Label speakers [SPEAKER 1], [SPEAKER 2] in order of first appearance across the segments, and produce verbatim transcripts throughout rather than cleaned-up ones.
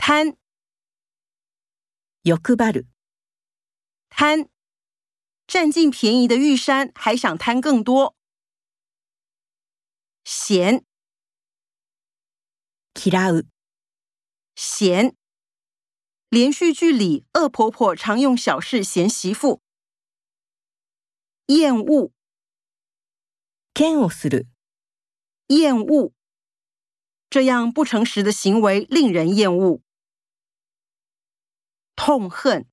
[SPEAKER 1] 贪，
[SPEAKER 2] 欲張る。
[SPEAKER 1] 贪，占尽便宜的玉山还想贪更多。嫌，
[SPEAKER 2] 嫌う。
[SPEAKER 1] 嫌，连续剧里恶婆婆常用小事嫌媳妇。厌恶，
[SPEAKER 2] 嫌悪する。
[SPEAKER 1] 厌恶，这样不诚实的行为令人厌恶。痛恨，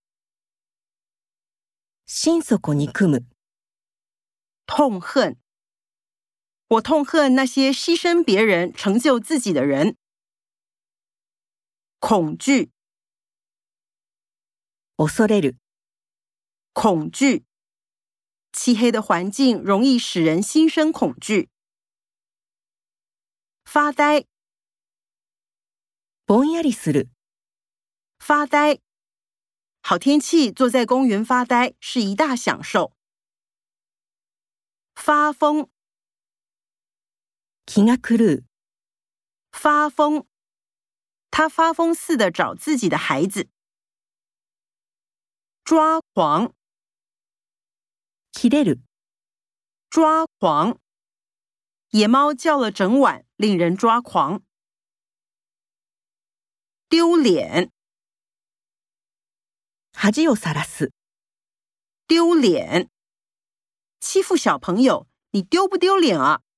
[SPEAKER 2] 心底憎む。
[SPEAKER 1] 痛恨，我痛恨那些牺牲别人成就自己的人。恐惧，
[SPEAKER 2] 恐れる。
[SPEAKER 1] 恐惧，漆黑的环境容易使人心生恐惧。发呆，
[SPEAKER 2] ぼんやりする。
[SPEAKER 1] 发呆，好天气坐在公园发呆是一大享受。发疯，
[SPEAKER 2] 気が狂う。
[SPEAKER 1] 发疯，他发疯似的找自己的孩子。抓狂，
[SPEAKER 2] 切れる。
[SPEAKER 1] 抓狂，野猫叫了整晚，令人抓狂。丢脸，
[SPEAKER 2] 恥をさらす。
[SPEAKER 1] 丢脸，欺负小朋友，你丢不丢脸啊？